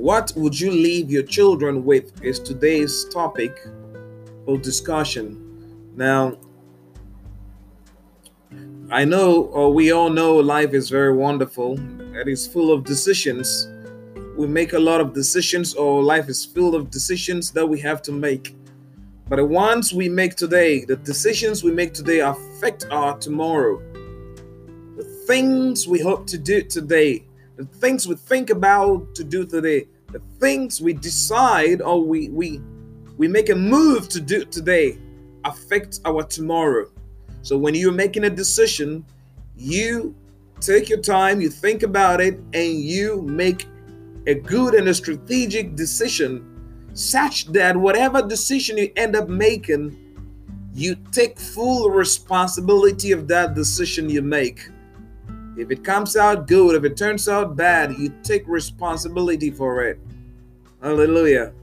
What would you leave your children with is today's topic of discussion. Now, I know, or we all know, life is very wonderful. It is full of decisions. We make a lot of decisions, or life is full of decisions that we have to make. But the ones we make today, the decisions we make today affect our tomorrow. The things we hope to do today, the things we think about to do today, the things we decide or we make a move to do today affect our tomorrow. So when you're making a decision, you take your time, you think about it, and you make a good and a strategic decision such that whatever decision you end up making, you take full responsibility of that decision you make. If it comes out good, if it turns out bad, you take responsibility for it. Hallelujah.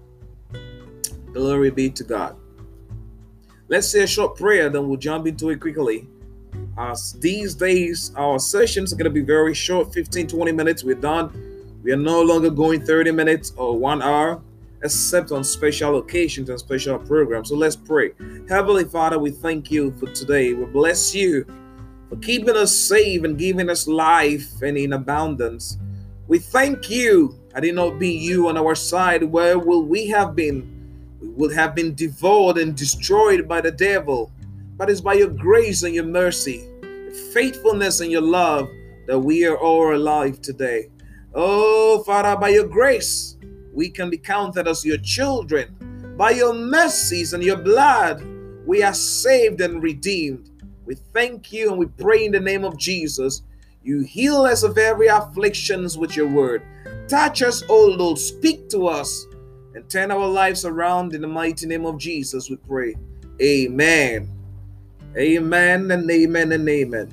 Glory be to God. Let's say a short prayer, then we'll jump into it quickly. These days, our sessions are going to be very short, 15-20 minutes. We're done. We are no longer going 30 minutes or 1 hour, except on special occasions and special programs. So let's pray. Heavenly Father, we thank you for today. We bless you for keeping us safe and giving us life and in abundance. We thank you. Had it not be you on our side, where will we have been? We would have been devoured and destroyed by the devil. But it's by your grace and your mercy, your faithfulness and your love that we are all alive today. Oh, Father, by your grace, we can be counted as your children. By your mercies and your blood, we are saved and redeemed. We thank you and we pray in the name of Jesus. You heal us of every afflictions with your word. Touch us, O Lord. Speak to us and turn our lives around in the mighty name of Jesus, we pray. Amen. Amen and amen and amen.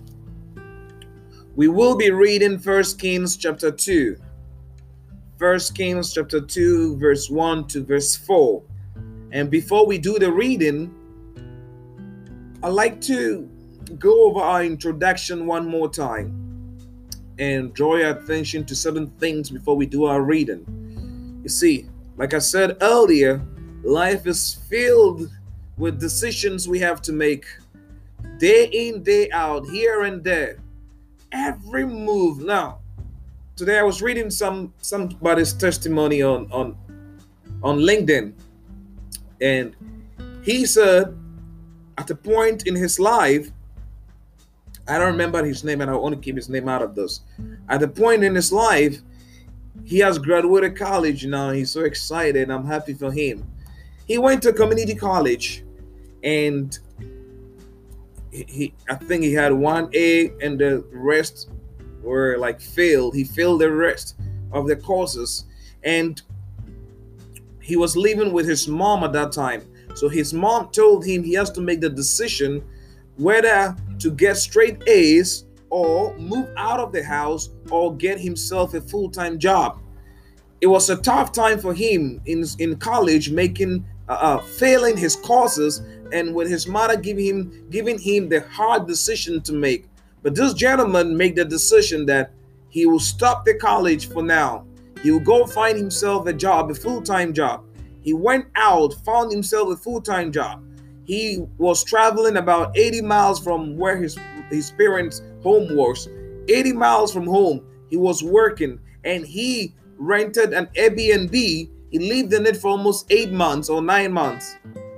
We will be reading 1 Kings chapter 2. 1 Kings chapter 2, verse 1 to verse 4. And before we do the reading, I'd like to go over our introduction one more time and draw your attention to certain things before we do our reading. You see, like I said earlier, life is filled with decisions we have to make day in, day out, here and there. Every move. Now, today I was reading somebody's testimony on LinkedIn, and he said at a point in his life, I don't remember his name and I want to keep his name out of this. At a point in his life, he has graduated college now. He's so excited. I'm happy for him. He went to community college, and I think he had 1A and the rest were like failed. He failed the rest of the courses, and he was living with his mom at that time. So his mom told him he has to make the decision whether to get straight A's or move out of the house or get himself a full-time job. It was a tough time for him in college, failing his courses, and with his mother giving him the hard decision to make. But this gentleman made the decision that he will stop the college for now. He will go find himself a job, a full-time job. He went out, found himself a full-time job. He was traveling about 80 miles from where his parents' home was. 80 miles from home. He was working, and he rented an Airbnb. He lived in it for almost 8 months or 9 months.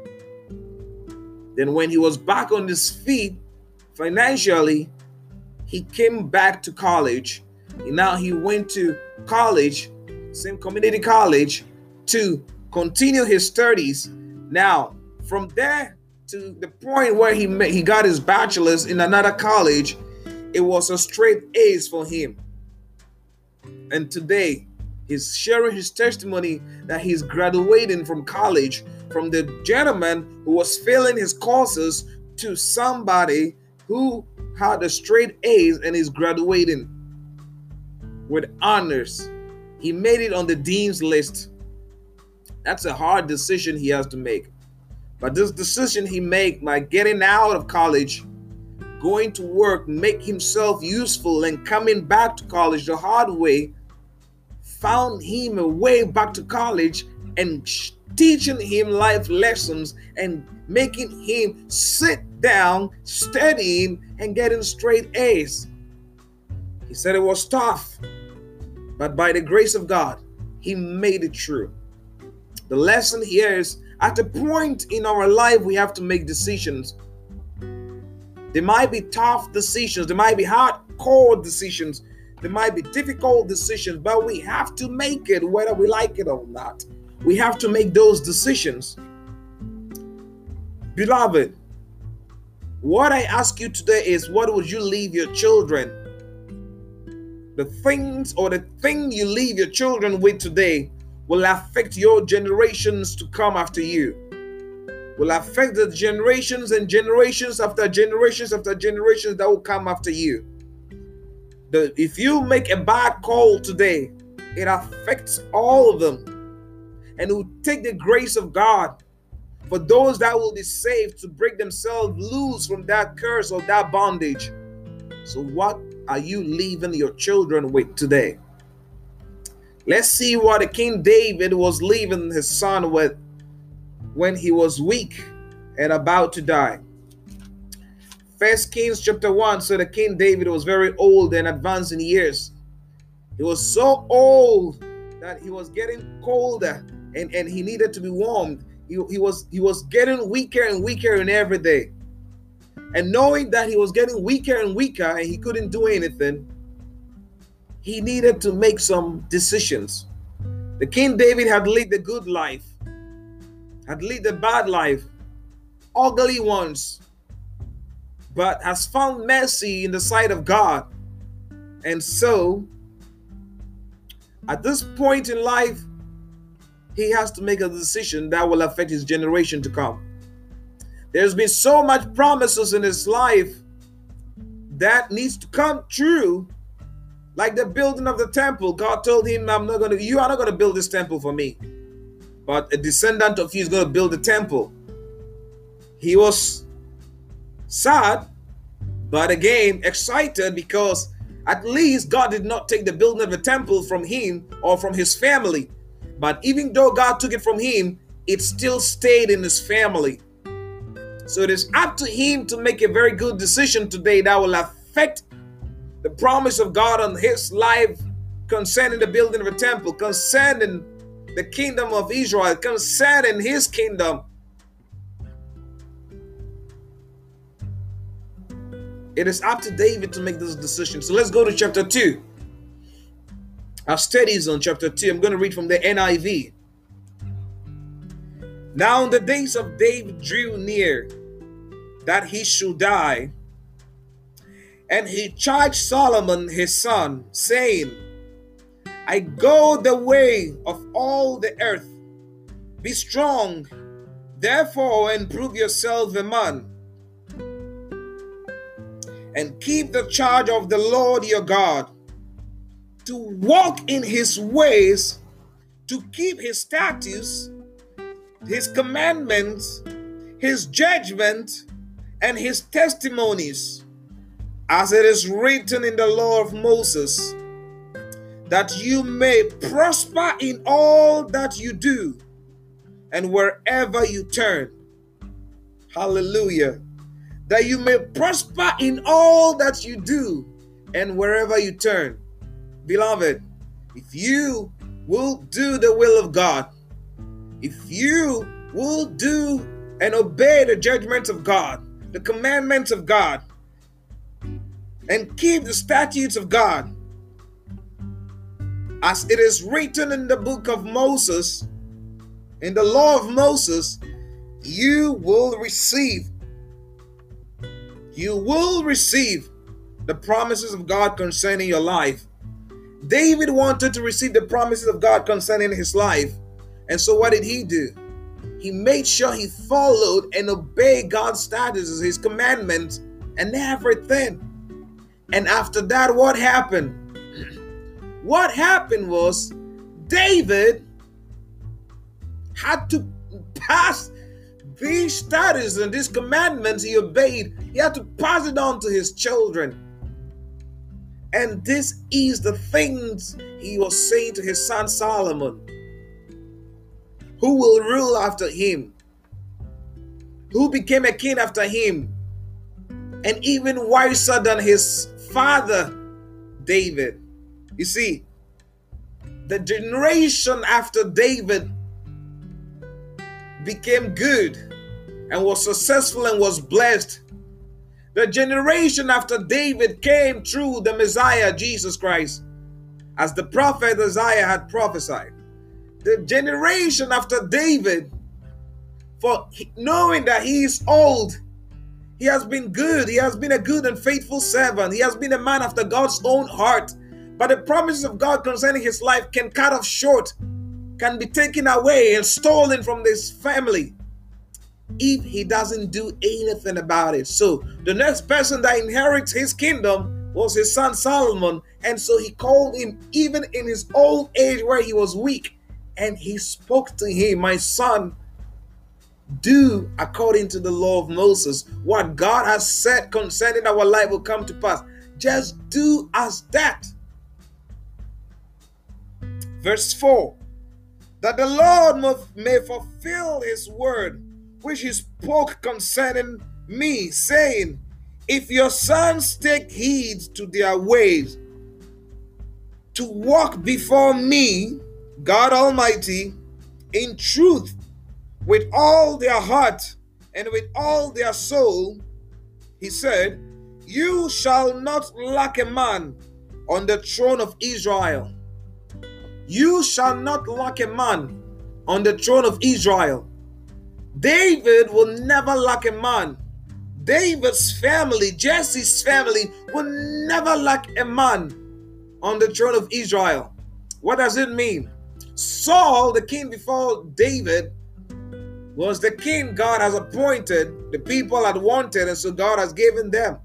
Then when he was back on his feet financially, he came back to college. Now he went to college, same community college, to continue his studies. Now, from there to the point where he got his bachelor's in another college, it was a straight A's for him. And today, he's sharing his testimony that he's graduating from college, from the gentleman who was failing his courses to somebody who had a straight A's and is graduating with honors. He made it on the dean's list. That's a hard decision he has to make. But this decision he made by getting out of college, going to work, make himself useful, and coming back to college the hard way, found him a way back to college and teaching him life lessons and making him sit down, studying, and getting straight A's. He said it was tough, but by the grace of God, he made it through. The lesson here is, at a point in our life, we have to make decisions. There might be tough decisions, there might be hardcore decisions, there might be difficult decisions, but we have to make it whether we like it or not. We have to make those decisions. Beloved, what I ask you today is, what would you leave your children? The thing you leave your children with today will affect your generations to come after you. Will affect the generations and generations after generations after generations that will come after you. If you make a bad call today, it affects all of them. And it will take the grace of God for those that will be saved to break themselves loose from that curse or that bondage. So what are you leaving your children with today? Let's see what the King David was leaving his son with when he was weak and about to die. 1 Kings chapter 1. So the King David was very old and advanced in years. He was so old that he was getting colder and he needed to be warmed. He was getting weaker and weaker in every day. And knowing that he was getting weaker and weaker and he couldn't do anything, he needed to make some decisions. The King David had lived the good life, had lived the bad life, ugly ones, but has found mercy in the sight of God. And so, at this point in life, he has to make a decision that will affect his generation to come. There's been so much promises in his life that needs to come true, like the building of the temple. God told him, you are not going to build this temple for me, but a descendant of you is going to build the temple. He was sad, but again excited, because at least God did not take the building of the temple from him or from his family. But even though God took it from him, it still stayed in his family. So it is up to him to make a very good decision today that will affect the promise of God on his life concerning the building of a temple, concerning the kingdom of Israel, concerning his kingdom. It is up to David to make this decision. So let's go to chapter 2. Our studies on chapter 2. I'm going to read from the NIV. Now the days of David drew near that he should die, and he charged Solomon his son, saying, I go the way of all the earth. Be strong, therefore, and prove yourself a man, and keep the charge of the Lord your God, to walk in his ways, to keep his statutes, his commandments, his judgment, and his testimonies, as it is written in the law of Moses, that you may prosper in all that you do and wherever you turn. Hallelujah. That you may prosper in all that you do and wherever you turn. Beloved, if you will do the will of God, if you will do and obey the judgments of God, the commandments of God, and keep the statutes of God, as it is written in the book of Moses, in the law of Moses, you will receive the promises of God concerning your life. David wanted to receive the promises of God concerning his life. And so what did he do? He made sure he followed and obeyed God's statutes, his commandments, and everything. And after that, what happened? What happened was David had to pass these statutes and these commandments he obeyed. He had to pass it on to his children. And this is the things he was saying to his son Solomon, who will rule after him, who became a king after him, and even wiser than his father David. You see, the generation after David became good and was successful and was blessed. The generation after David came through the Messiah, Jesus Christ, as the prophet Isaiah had prophesied. The generation after David, for knowing that he is old, he has been good. He has been a good and faithful servant. He has been a man after God's own heart. But the promises of God concerning his life can cut off short, can be taken away and stolen from this family if he doesn't do anything about it. So the next person that inherits his kingdom was his son Solomon. And so he called him even in his old age where he was weak. And he spoke to him, my son, do according to the law of Moses. What God has said concerning our life will come to pass. Just do as that. Verse 4, that the Lord may fulfill his word, which he spoke concerning me, saying, if your sons take heed to their ways, to walk before me, God Almighty, in truth, with all their heart and with all their soul, he said, you shall not lack a man on the throne of Israel. You shall not lack a man on the throne of Israel. David will never lack a man. David's family, Jesse's family, will never lack a man on the throne of Israel. What does it mean? Saul, the king before David, was the king God has appointed, the people had wanted, and so God has given them.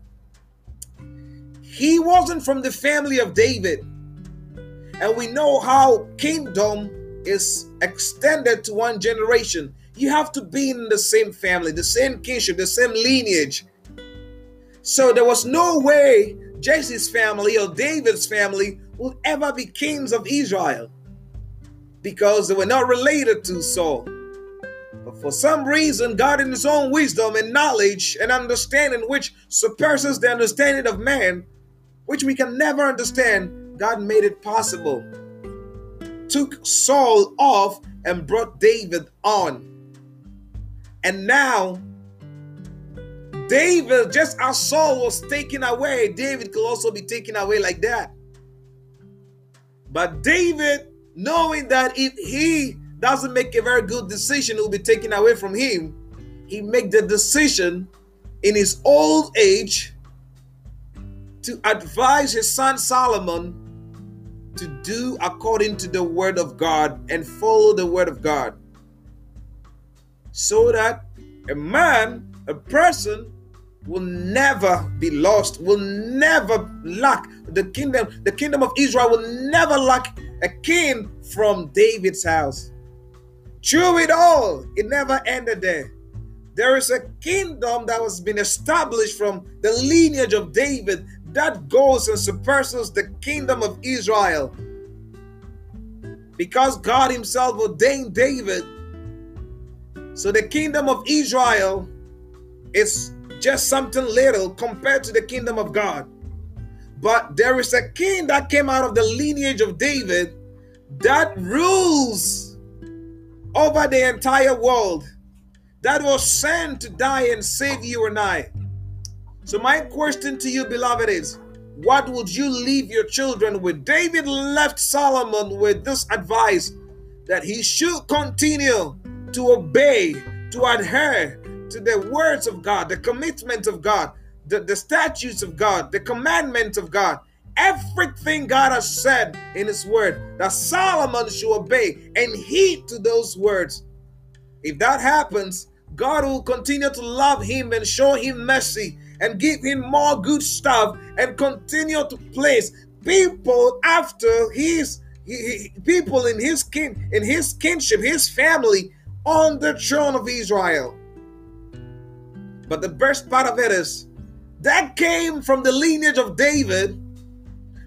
He wasn't from the family of David. And we know how kingdom is extended to one generation. You have to be in the same family, the same kinship, the same lineage. So there was no way Jesse's family or David's family would ever be kings of Israel, because they were not related to Saul. But for some reason, God in his own wisdom and knowledge and understanding, which surpasses the understanding of man, which we can never understand, God made it possible. Took Saul off and brought David on. And now, David, just as Saul was taken away, David could also be taken away like that. But David, knowing that if he doesn't make a very good decision, it will be taken away from him, he made the decision in his old age to advise his son Solomon to do according to the word of God and follow the word of God, so that a man, a person, will never be lost, will never lack the kingdom. The kingdom of Israel will never lack a king from David's house. Through it all, it never ended there. There is a kingdom that has been established from the lineage of David that goes and surpasses the kingdom of Israel. Because God himself ordained David. So the kingdom of Israel is just something little compared to the kingdom of God. But there is a king that came out of the lineage of David that rules over the entire world, that was sent to die and save you and I. So my question to you, beloved, is what would you leave your children with? David left Solomon with this advice, that he should continue to obey, to adhere to the words of God, the commitment of God, the statutes of God, the commandments of God. Everything God has said in his word, that Solomon should obey and heed to those words. If that happens, God will continue to love him and show him mercy and give him more good stuff and continue to place people after people in his kinship, his family, on the throne of Israel. But the best part of it is that came from the lineage of David,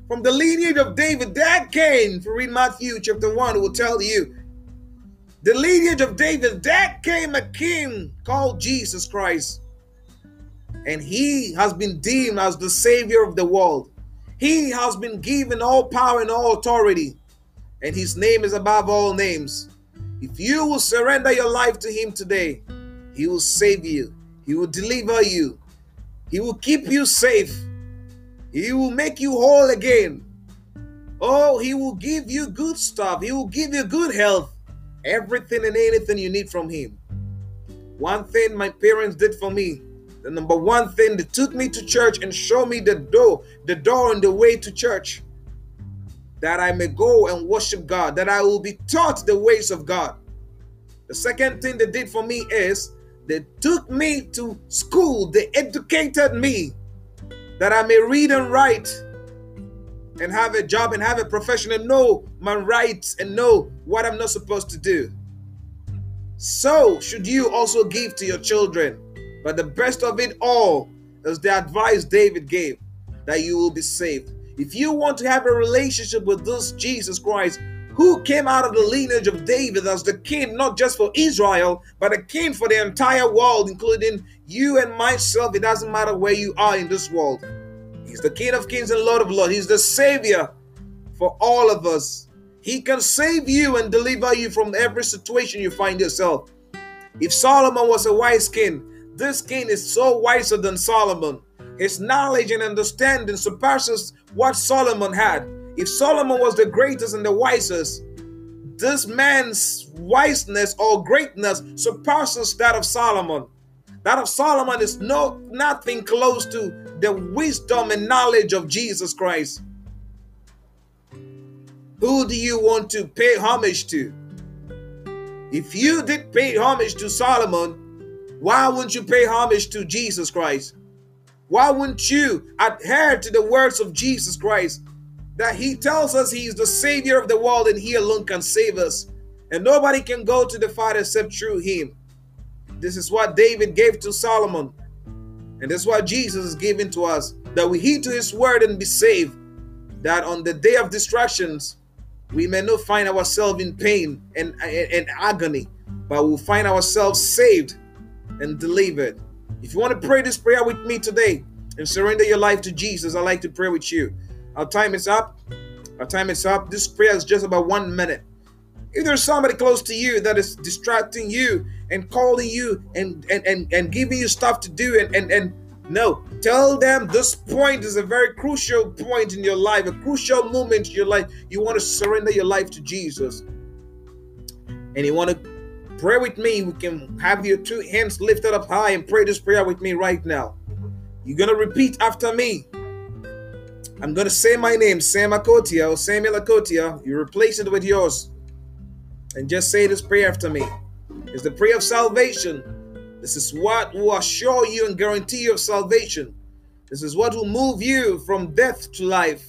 From the lineage of David, that came, if you read Matthew chapter 1, it will tell you, the lineage of David, that came a king called Jesus Christ. And he has been deemed as the Savior of the world. He has been given all power and all authority. And his name is above all names. If you will surrender your life to him today, he will save you. He will deliver you. He will keep you safe. He will make you whole again. Oh, he will give you good stuff. He will give you good health. Everything and anything you need from him. One thing my parents did for me, the number one thing, they took me to church and showed me the door and the way to church, that I may go and worship God, that I will be taught the ways of God. The second thing they did for me is they took me to school. They educated me that I may read and write and have a job and have a profession and know my rights and know what I'm not supposed to do. So should you also give to your children. But the best of it all is the advice David gave, that you will be saved. If you want to have a relationship with this Jesus Christ, who came out of the lineage of David as the king, not just for Israel, but a king for the entire world, including you and myself. It doesn't matter where you are in this world. He's the King of Kings and Lord of Lords. He's the Savior for all of us. He can save you and deliver you from every situation you find yourself. If Solomon was a wise king, this king is so wiser than Solomon. His knowledge and understanding surpasses what Solomon had. If Solomon was the greatest and the wisest, this man's wiseness or greatness surpasses that of Solomon. That of Solomon is nothing close to the wisdom and knowledge of Jesus Christ. Who do you want to pay homage to? If you did pay homage to Solomon, why wouldn't you pay homage to Jesus Christ? Why wouldn't you adhere to the words of Jesus Christ? That he tells us he is the Savior of the world and he alone can save us. And nobody can go to the Father except through him. This is what David gave to Solomon. And that's what Jesus is giving to us. That we heed to his word and be saved. That on the day of distractions, we may not find ourselves in pain and agony, but we'll find ourselves saved and delivered. If you want to pray this prayer with me today and surrender your life to Jesus, I'd like to pray with you. Our time is up. Our time is up. This prayer is just about 1 minute. If there's somebody close to you that is distracting you and calling you and giving you stuff to do and no, tell them this point is a very crucial point in your life, a crucial moment in your life. You want to surrender your life to Jesus. And you want to pray with me. We can have your two hands lifted up high and pray this prayer with me right now. You're going to repeat after me. I'm going to say my name, Sam Akotia or Samuel Akotia. You replace it with yours. And just say this prayer after me. It's the prayer of salvation. This is what will assure you and guarantee you of salvation. This is what will move you from death to life.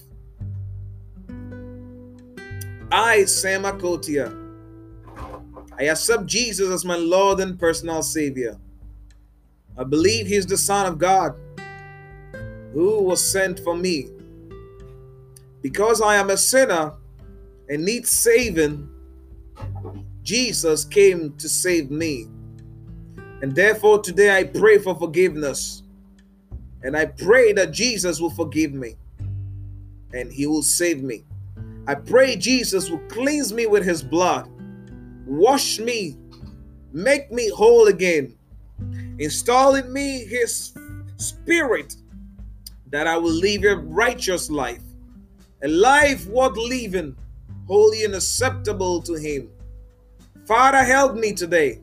I, Sam Akotia, I accept Jesus as my Lord and personal Savior. I believe He's the Son of God who was sent for me. Because I am a sinner and need saving, Jesus came to save me. And therefore today I pray for forgiveness. And I pray that Jesus will forgive me and He will save me. I pray Jesus will cleanse me with His blood, wash me, make me whole again, install in me His Spirit, that I will live a righteous life, a life worth living, holy and acceptable to Him. Father, help me today.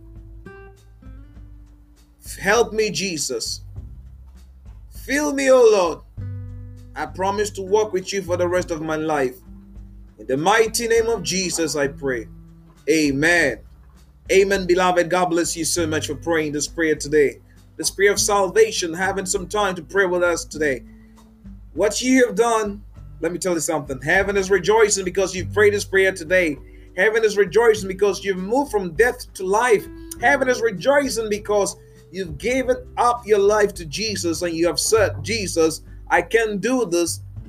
Help me, Jesus. Fill me, O Lord. I promise to walk with you for the rest of my life. In the mighty name of Jesus, I pray. Amen. Amen, beloved. God bless you so much for praying this prayer today. This prayer of salvation, having some time to pray with us today. What you have done, let me tell you something. Heaven is rejoicing because you've prayed this prayer today. Heaven is rejoicing because you've moved from death to life. Heaven is rejoicing because you've given up your life to Jesus and you have said, Jesus, I can do this.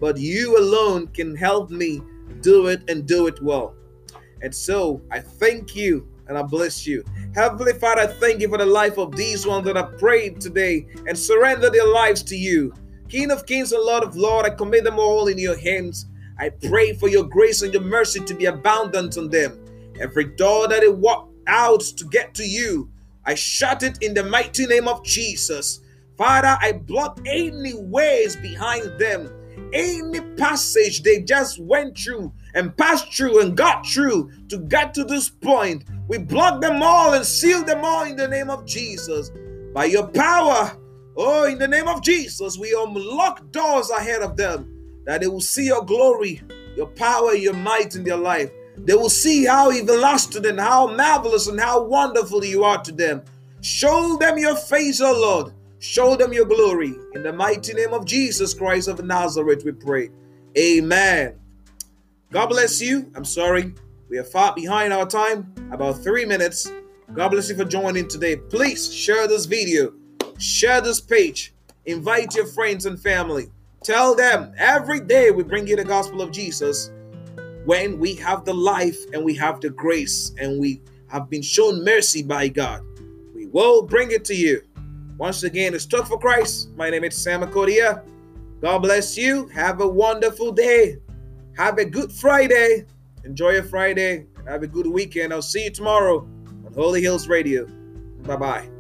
but you alone can help me do it and do it well. And so I thank you and I bless you. Heavenly Father, I thank you for the life of these ones that have prayed today and surrender their lives to you. King of kings and Lord of lords, I commit them all in your hands. I pray for your grace and your mercy to be abundant on them. Every door that they walk out to get to you, I shut it in the mighty name of Jesus. Father, I block any ways behind them, any passage they just went through and passed through and got through to get to this point. We block them all and seal them all in the name of Jesus. By your power, oh, in the name of Jesus, we unlock doors ahead of them, that they will see your glory, your power, your might in their life. They will see how everlasting and how marvelous and how wonderful you are to them. Show them your face, oh Lord. Show them your glory. In the mighty name of Jesus Christ of Nazareth, we pray. Amen. God bless you. I'm sorry, we are far behind our time, about 3 minutes. God bless you for joining today. Please share this video, share this page, invite your friends and family. Tell them every day we bring you the gospel of Jesus. When we have the life and we have the grace and we have been shown mercy by God, we will bring it to you. Once again, it's Talk for Christ. My name is Sam Akodia. God bless you. Have a wonderful day. Have a good Friday. Enjoy your Friday. Have a good weekend. I'll see you tomorrow on Holy Hills Radio. Bye-bye.